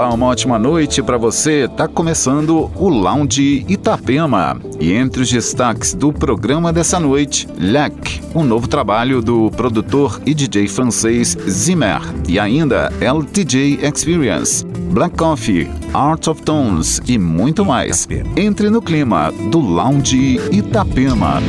Olá, uma ótima noite para você. Tá começando o Lounge Itapema. E entre os destaques do programa dessa noite, Lac, um novo trabalho do produtor e DJ francês Zimmer. E ainda LTJ Experience, Black Coffee, Art of Tones e muito mais. Entre no clima do Lounge Itapema.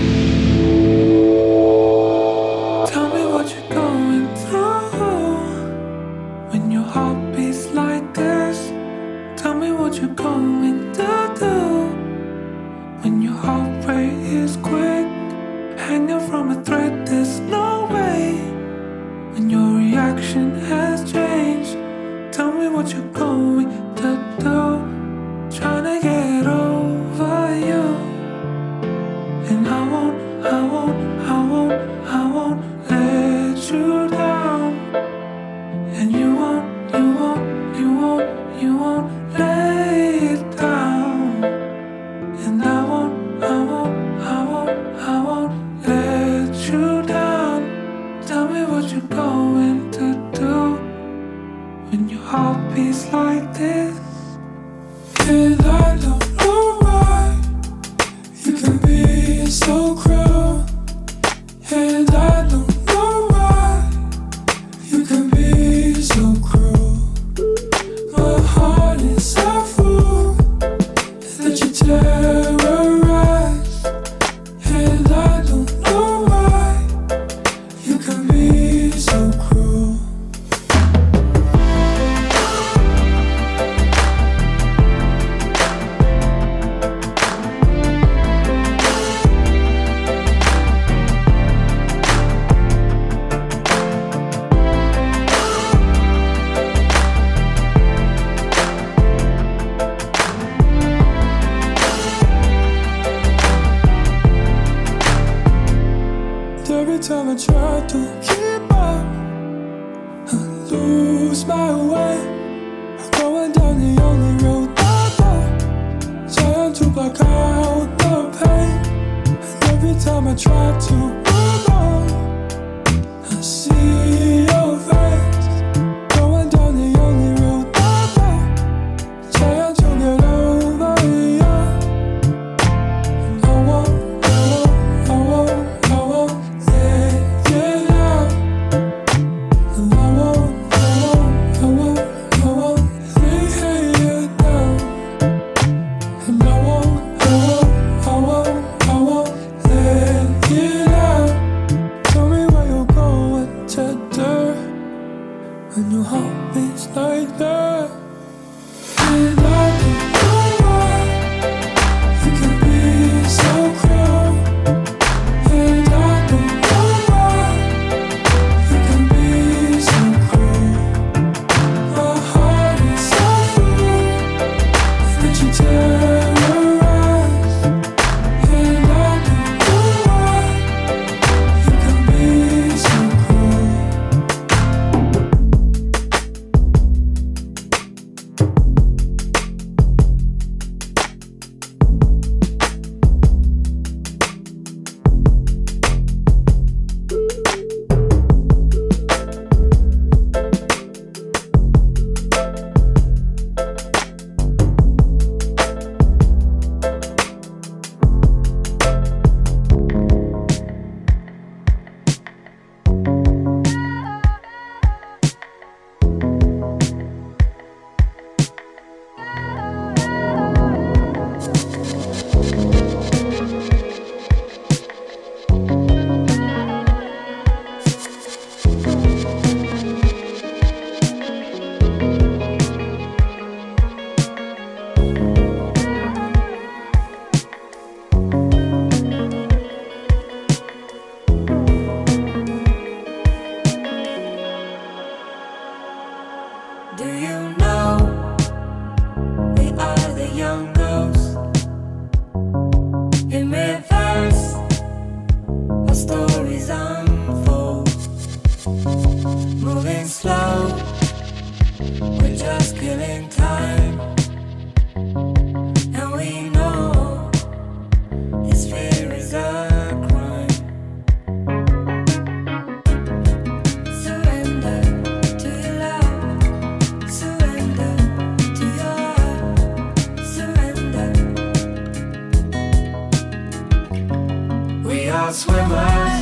swimmers,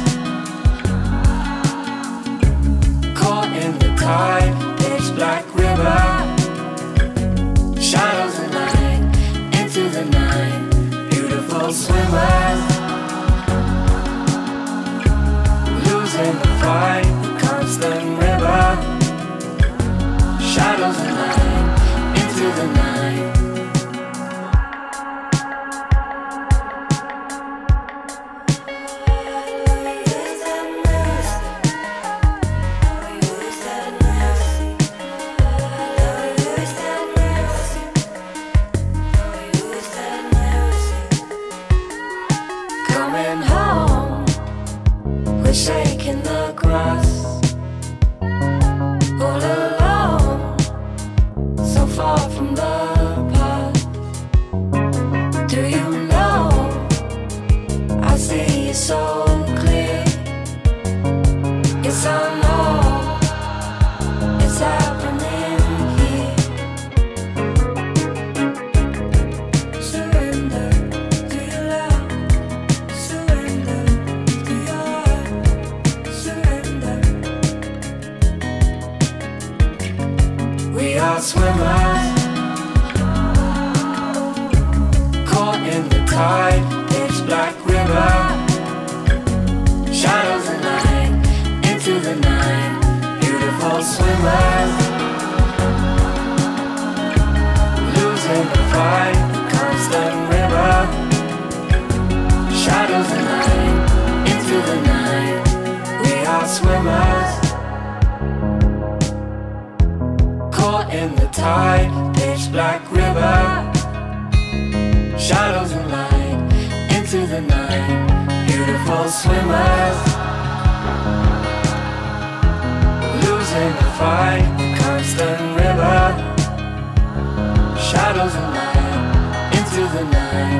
caught in the tide, pitch black river, shadows of night, into the night, beautiful swimmers, losing the fight, the constant river, shadows of night, into the night. Shaking the grass, all alone, so far from the past. Do you know, I see it so clear. Yes, I know, it's happening here. Surrender to your love, surrender to your heart. We are swimmers, caught in the tide, pitch black river, shadows of night, into the night, beautiful swimmers, losing the fight, the constant river, shadows of night, into the night, we are swimmers. In the tide, pitch black river, shadows and light, into the night, beautiful swimmers, losing the fight, the constant river, shadows and light, into the night.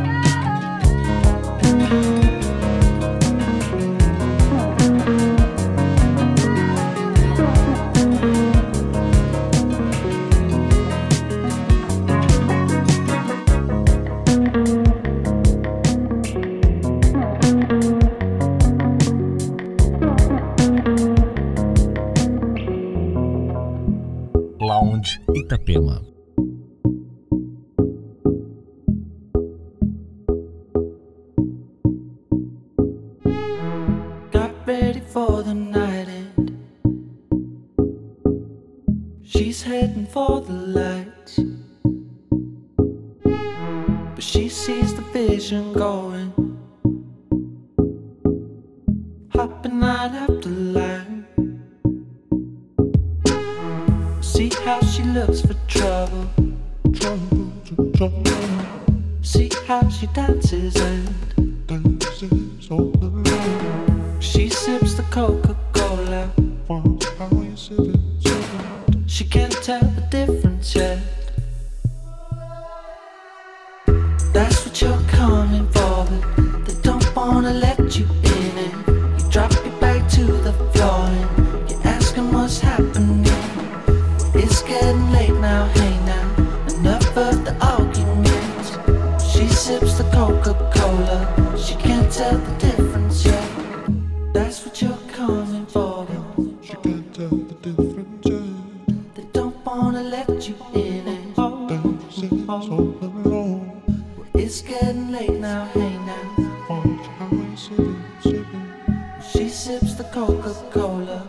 Lounge Itapema. Got ready for the night end. She's heading for the lights, but she sees the vision going, hopping line after line. See how she looks for trouble, see how she dances and all alone. She sips the Coca-Cola, she can't tell the difference yet. That's what you're coming for, but they don't wanna let you in it. You drop your bag to the floor and you're asking what's happening. It's getting late now, hey now, enough of the arguments. She sips the Coca-Cola, she can't tell the difference yet. That's what you're coming for, she can't tell the difference yet. They don't wanna let you in it. It's getting late now, hey now. She sips the Coca-Cola.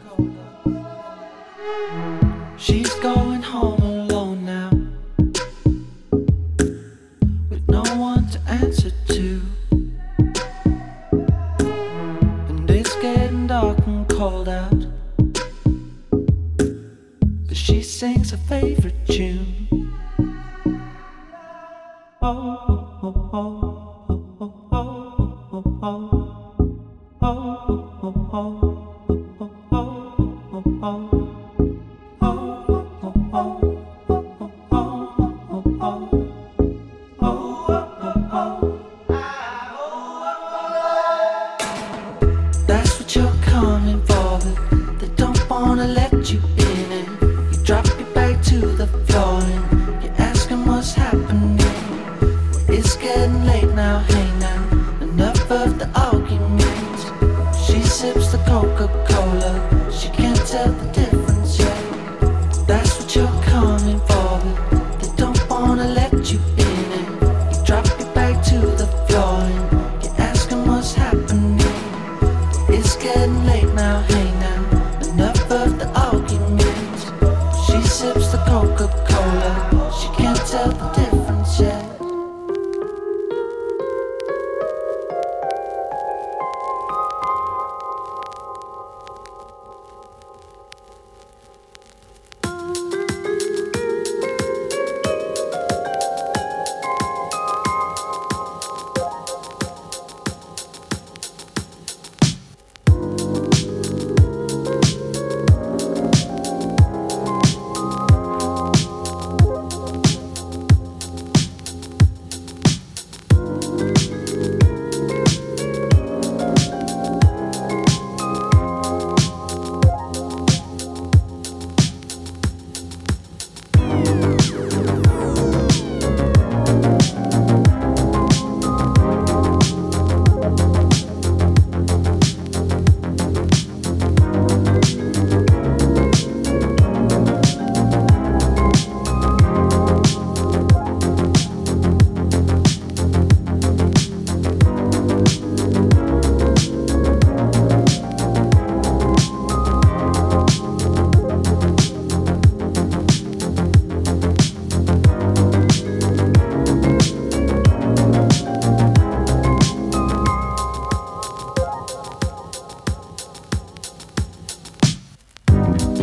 She's going home alone now, with no one to answer to. And it's getting dark and cold out, but she sings her favorite tune. Oh, oh, oh, oh, oh, oh, oh, oh. It's getting late now, hey now, enough of the argument.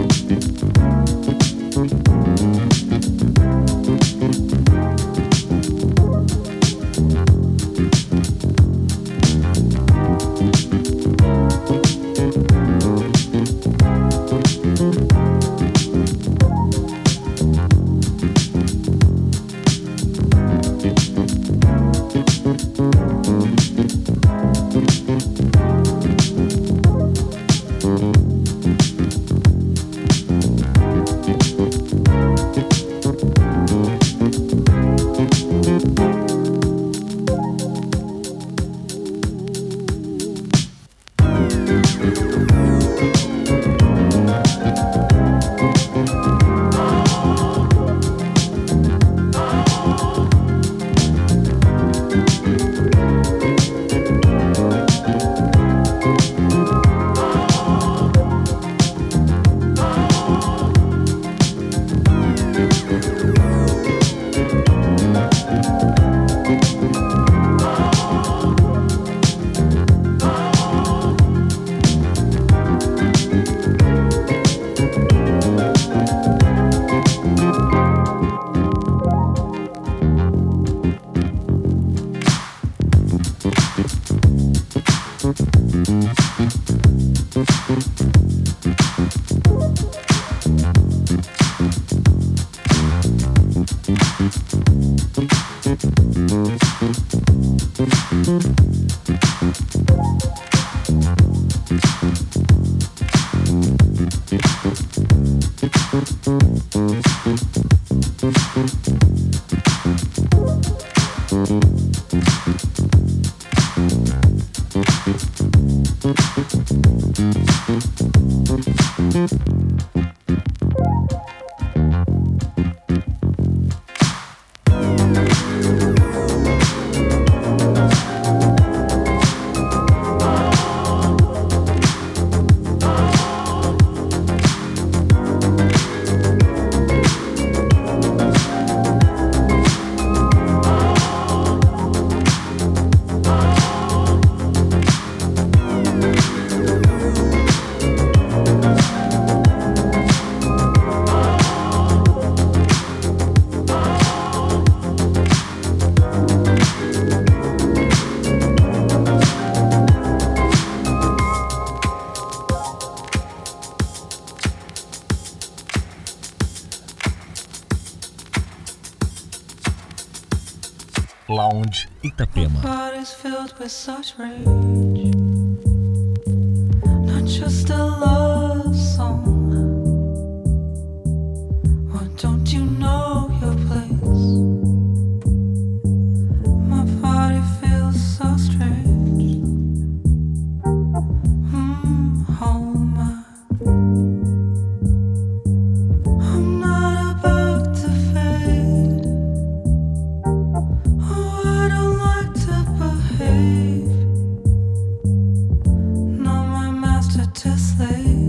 Lounge Itapema. Filled with such rage, not just a love song. Why don't you know your place? My body feels so strange. Hold my. I'm not about to fade. I don't like to behave. No, my master to slave.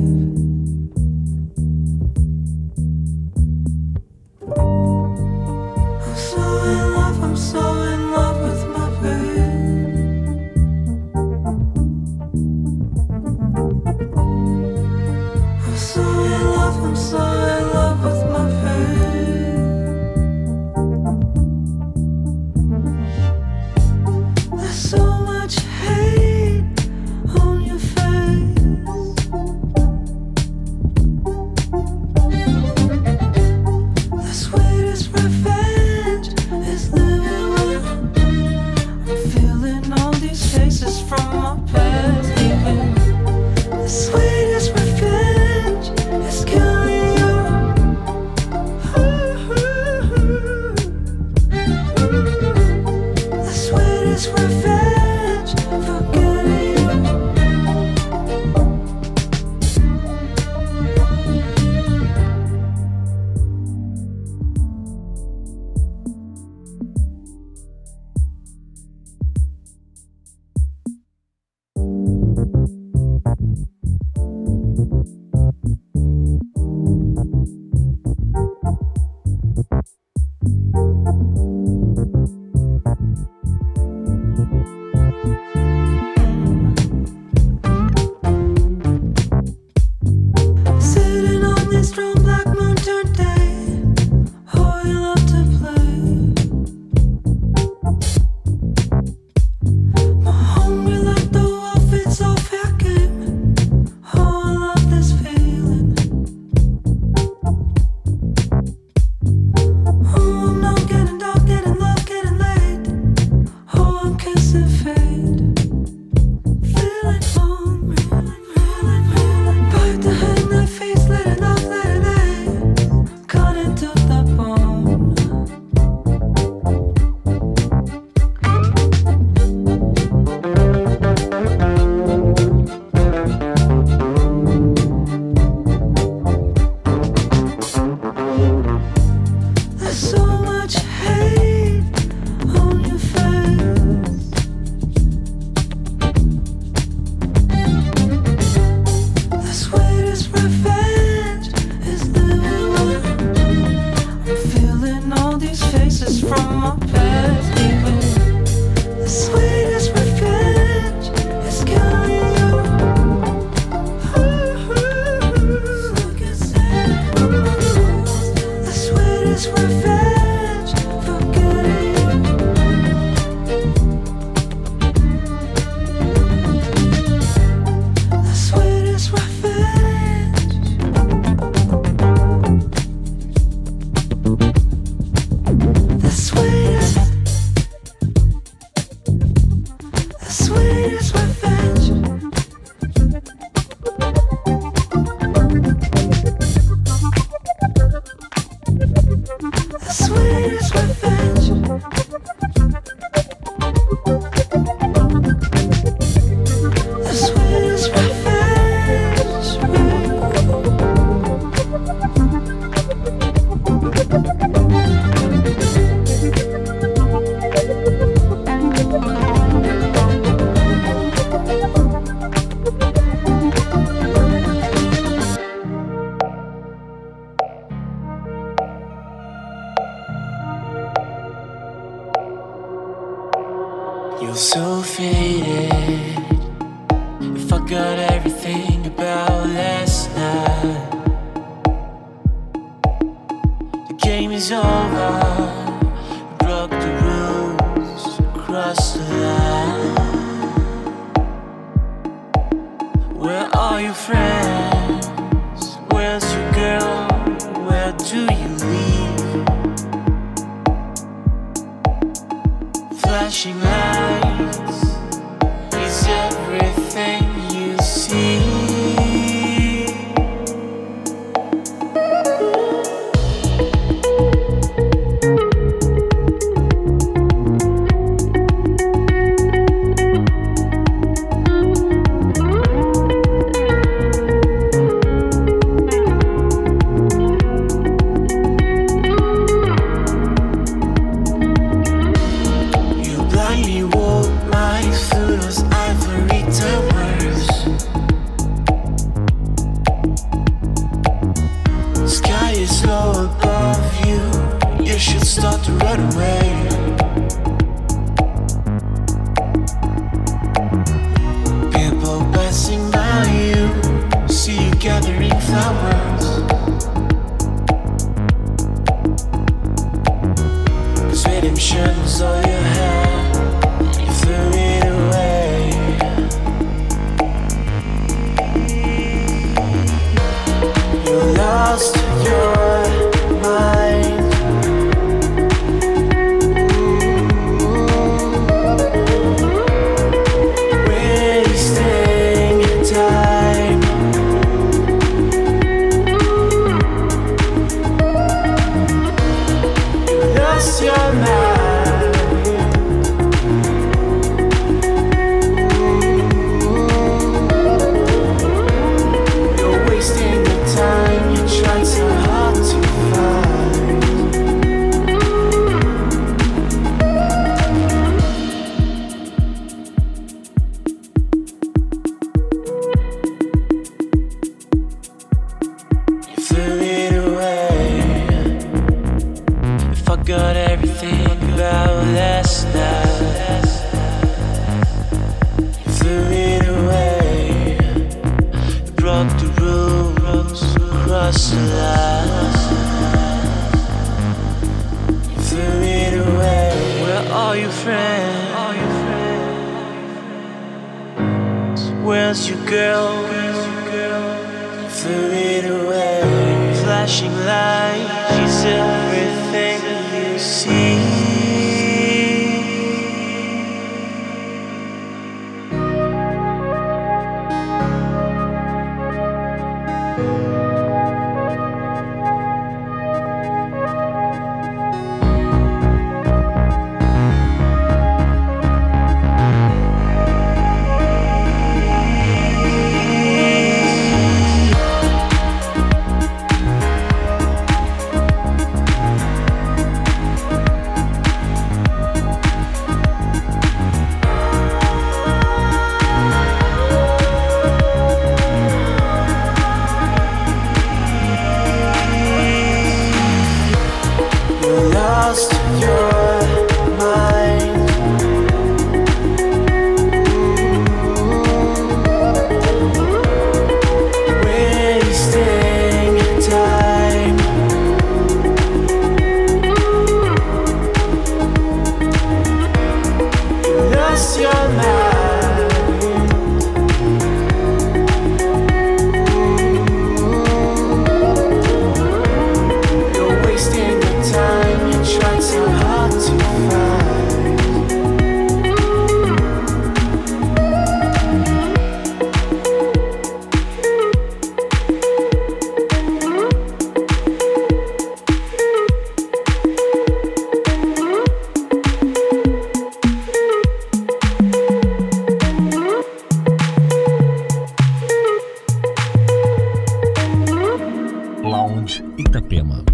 feel so faded. I forgot everything about last night. The game is over. Broke the rules, crossed the line. Where are your friends? Where's your girl? Where do you live? Flashing lights is everything you see. Start to run away. People passing by you, see you gathering flowers. 'Cause redemption was all you had, you threw it away. You lost your mind. Got everything about last night. You threw it away. You broke the rules, crossed the line. You threw it away. Where are your friends? Where's your girl? You threw it away. Flashing light is everything you see. Itapema.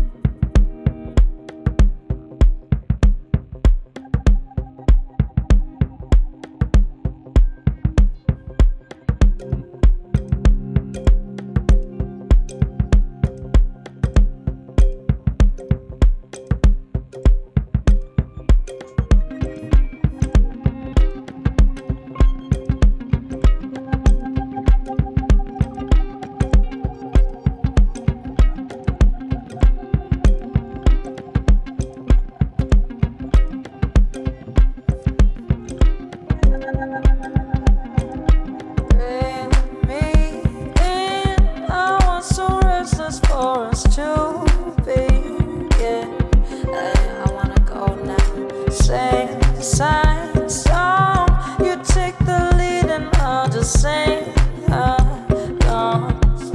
for us to begin. I wanna go now. Sing, sing, song. You take the lead and I'll just sing along.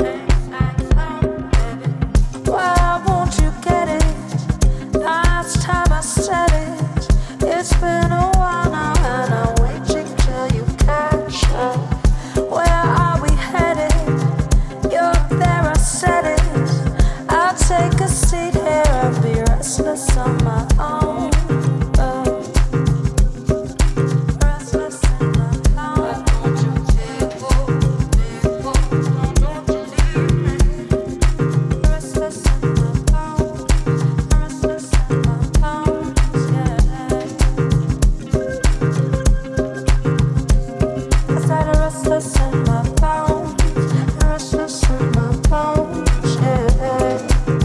Why won't you get it? Last time I said it. It's been a while now and I'm waiting till you catch up. Where are we headed? You're there, I said it. I'll take a seat here and be restless on my own. Restless on my own. Restless on my own. Restless on my own. I said I'm restless in my bones. I'm restless in my bones, yeah.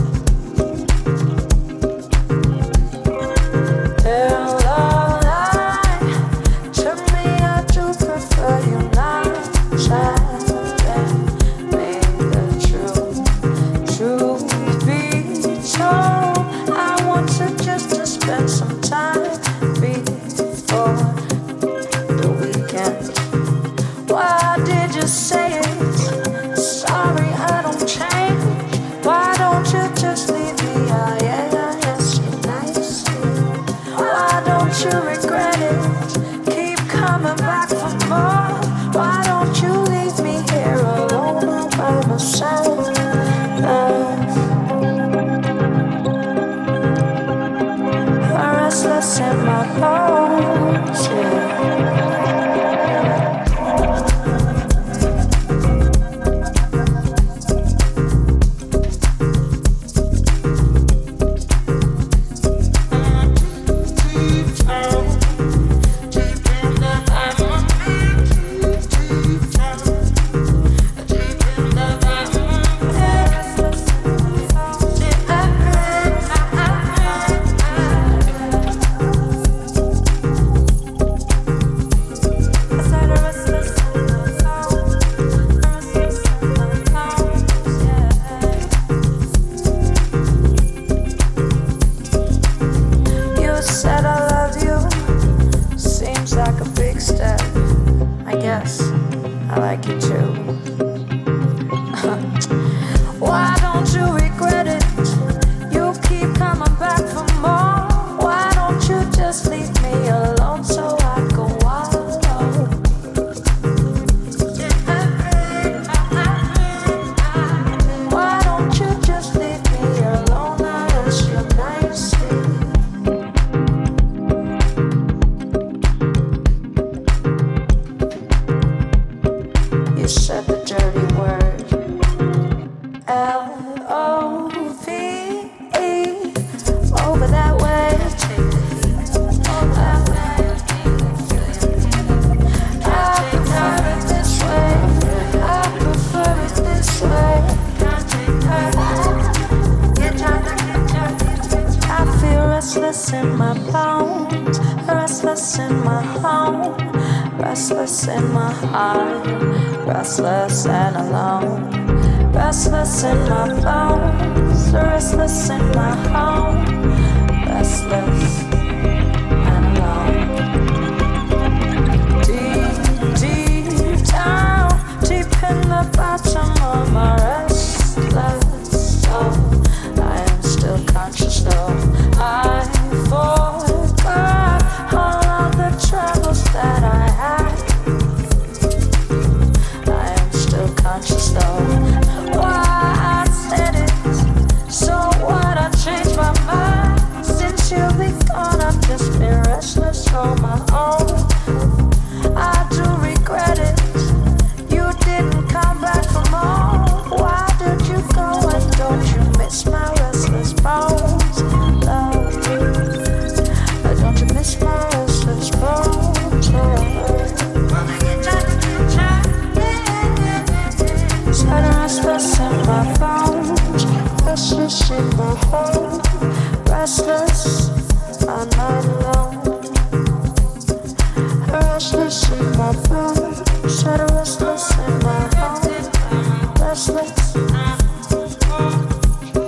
Tell a lie to me, I do prefer you not telling me the truth be told. I want to spend some time before the weekend. Why did you say it? Sorry, I don't change. Why don't you just leave me? Yes, you're nice. Why don't you regret it? Keep coming back for more. Why don't you leave me here alone all by myself? I'm restless in my bones, yeah. You said I love you. Seems like a big step. I guess I like you too. Why don't you regret it? You keep coming back for more. Why don't you just leave me alone so I can wallow? Why don't you just leave me alone? I ask you nicely. You said the dirty word L-O-V-E. Over that way. I prefer it this way. I prefer it this way. I feel restless in my bones. Restless in my home. Restless in my heart. Restless and alone. Restless in my bones. Restless in my home. Restless and alone. Deep down, deep in the bottom of my restless soul, I am still conscious though. I forgot all of the troubles that I had. I am still conscious though. Why I said it? So what? I changed my mind since you've been gone. I've just been restless on my own. I do regret it. You didn't come back for more. Why did you go? And don't you miss my restless bones, love? Don't you miss my restless bones, Said I'm restless in my bones, restless in my home, restless, I'm not alone. Restless in my bones, said I'm restless in my home, restless.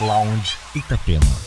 Lounge Itapema.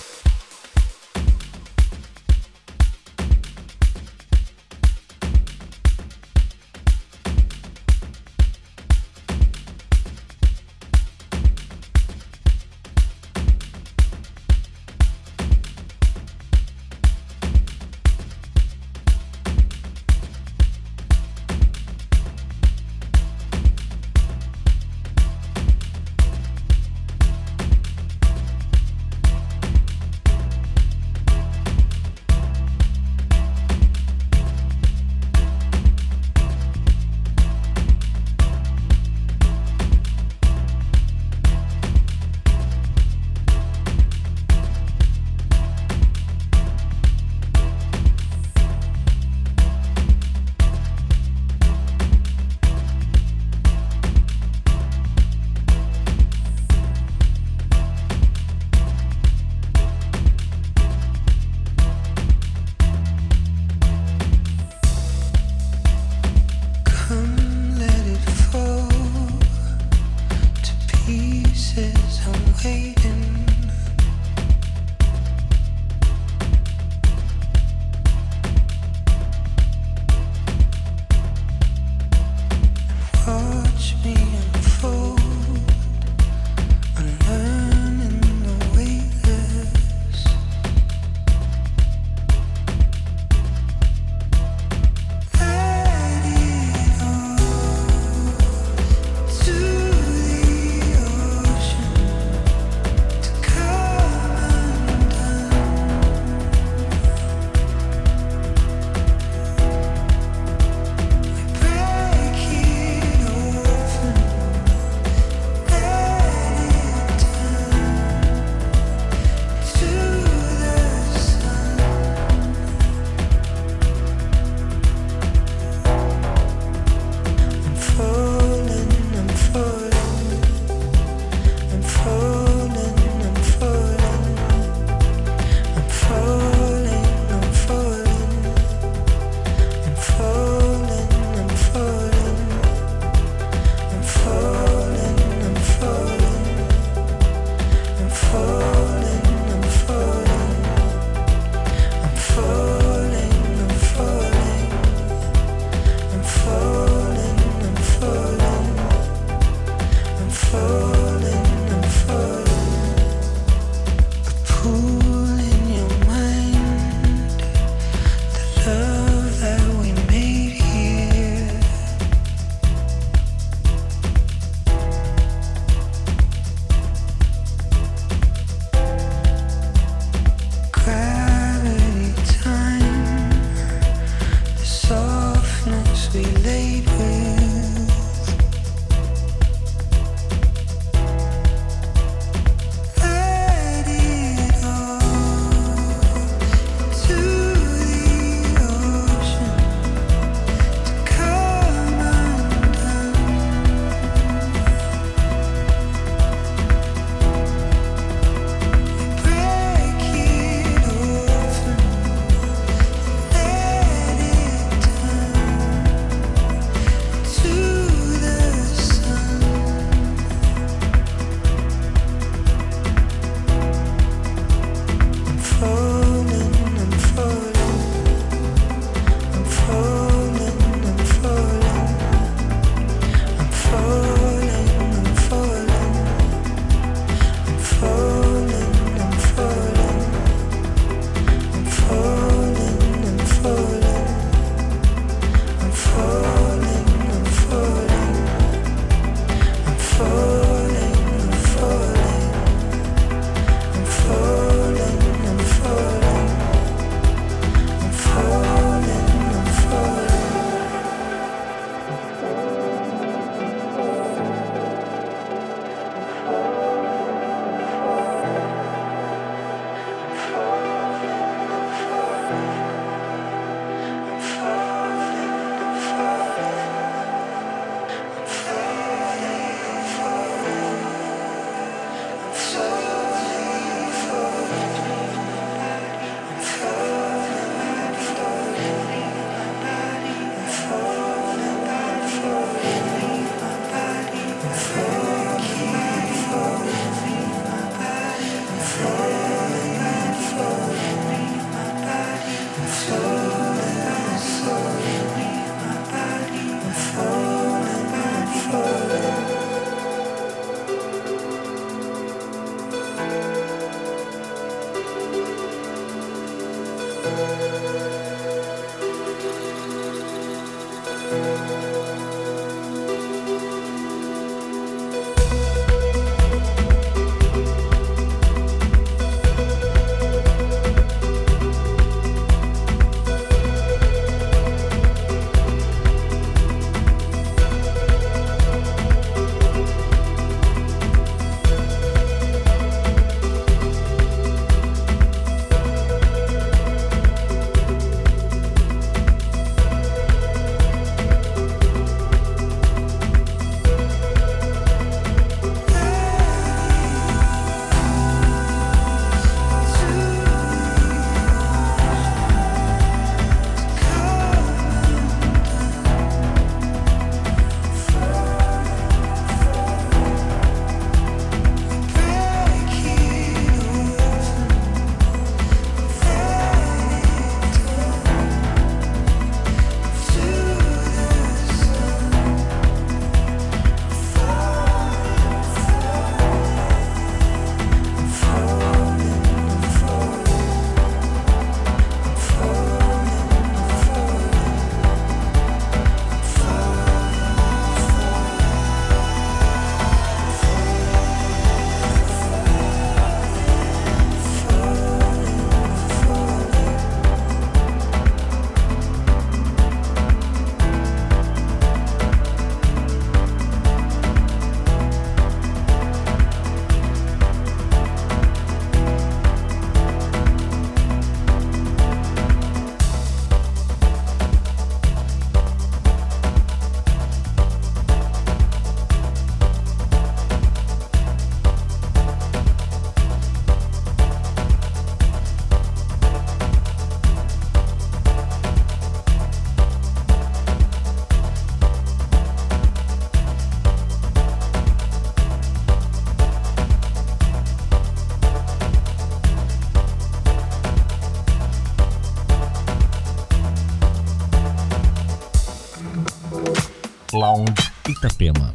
Lounge Itapema.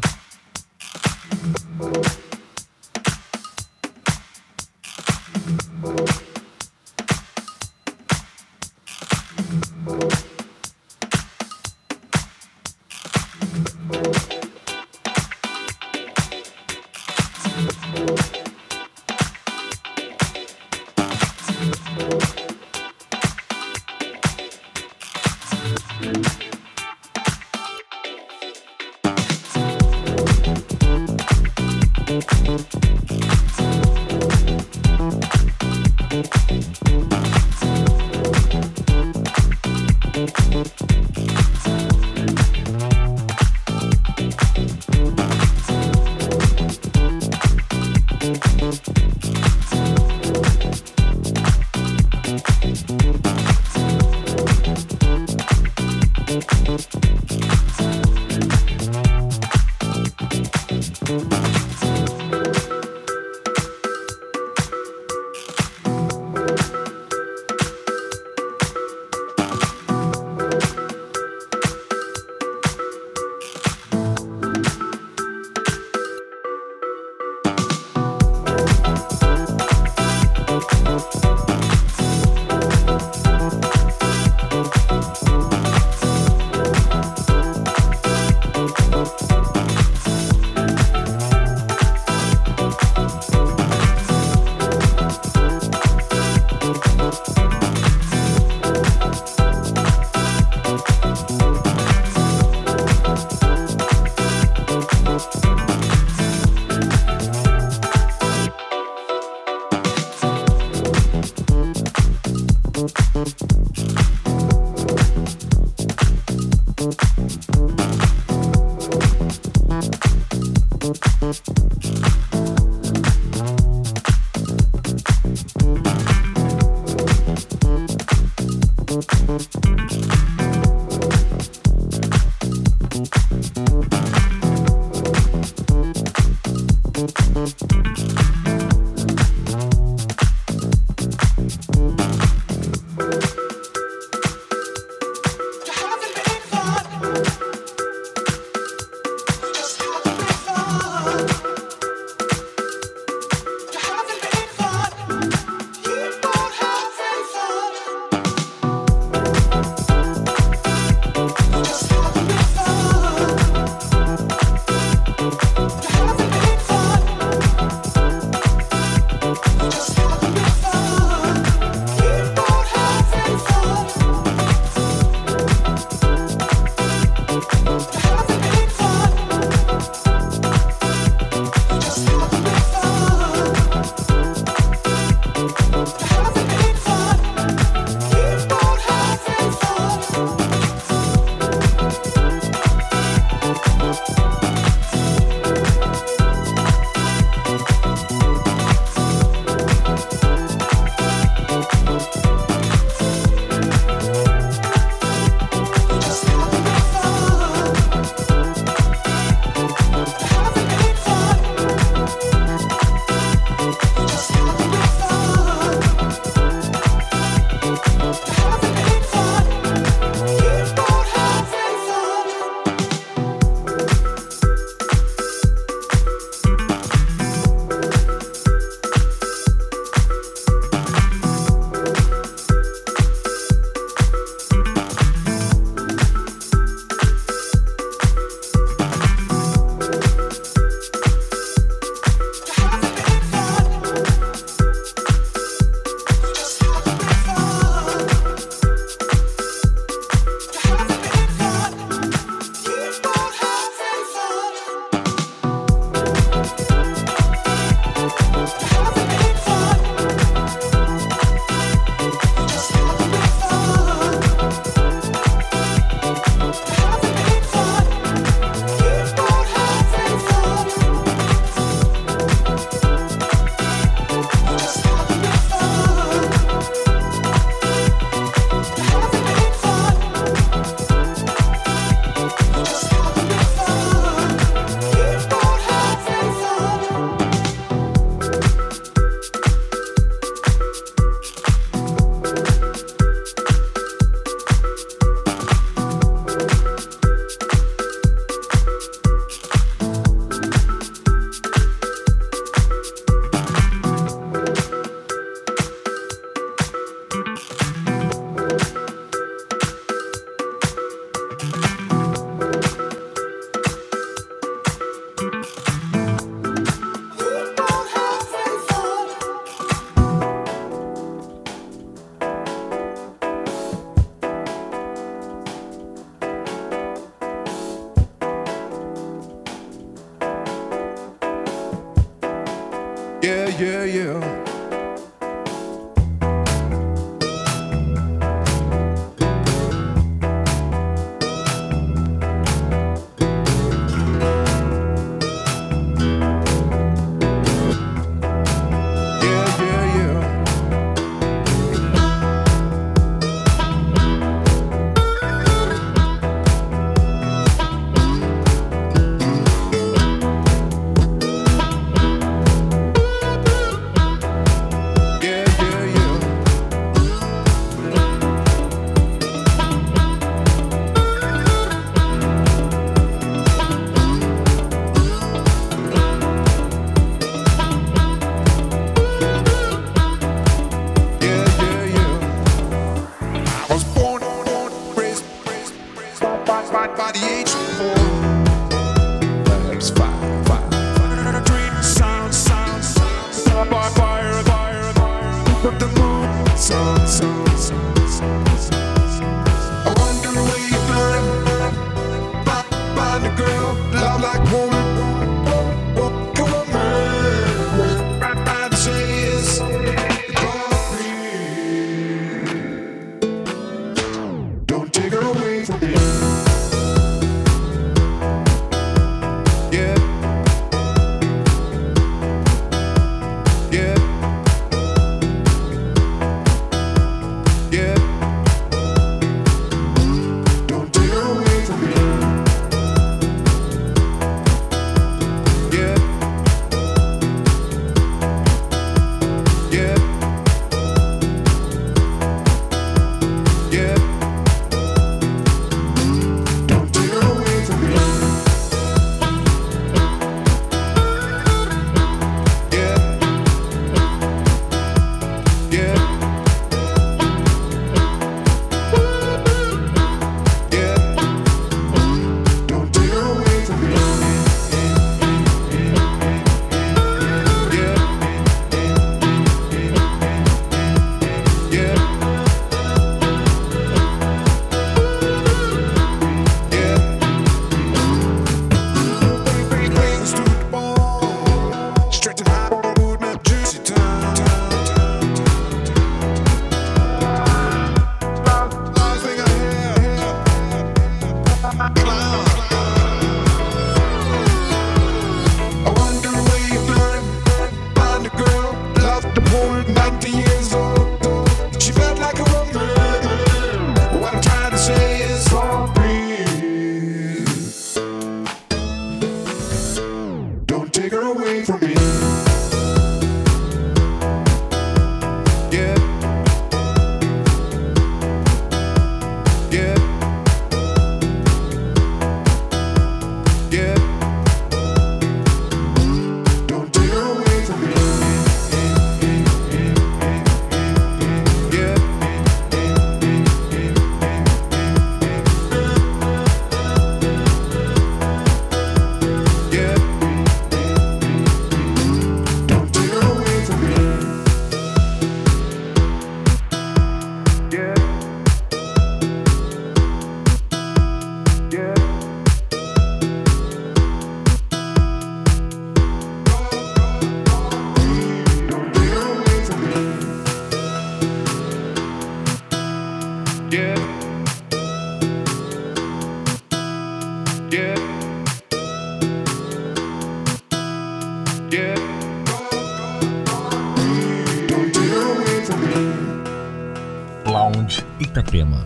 Lounge Itapema.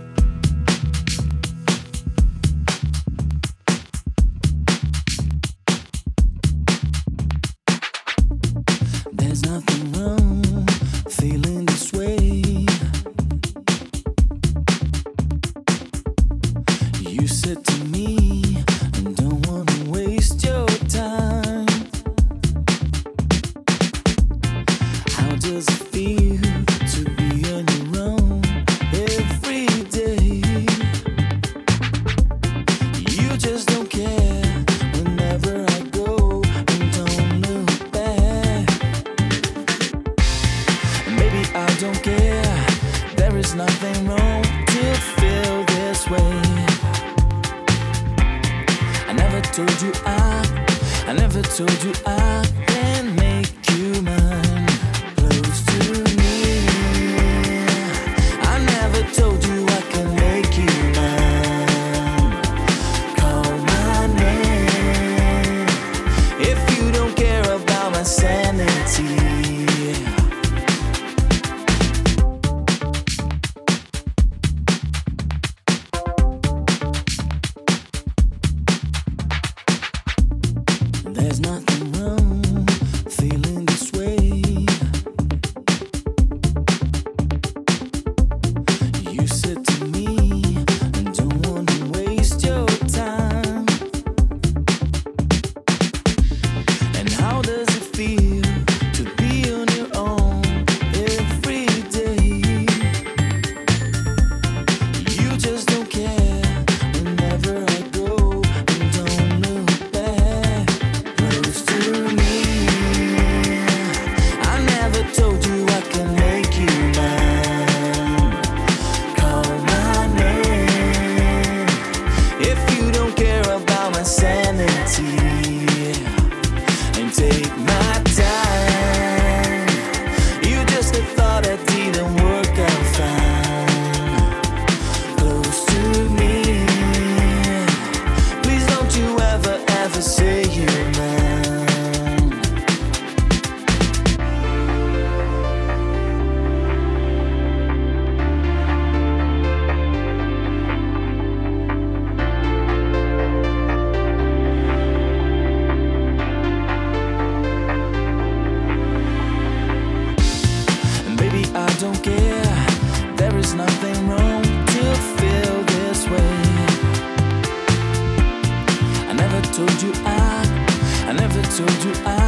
There's nothing wrong feeling this way. You said to me, I don't wanna waste your time. How does it feel to be on your own every day? You just don't care whenever I go and don't look back. Maybe I don't care. There is nothing wrong to feel this way. I never told you I can make you mine. Close to me. I never told you I can make you mine. Call my name if you don't care about my sanity. There's nothing wrong feeling this way. You said to me, I don't wanna waste your time. And how does it feel to be on your own every day? You just don't care whenever I told you I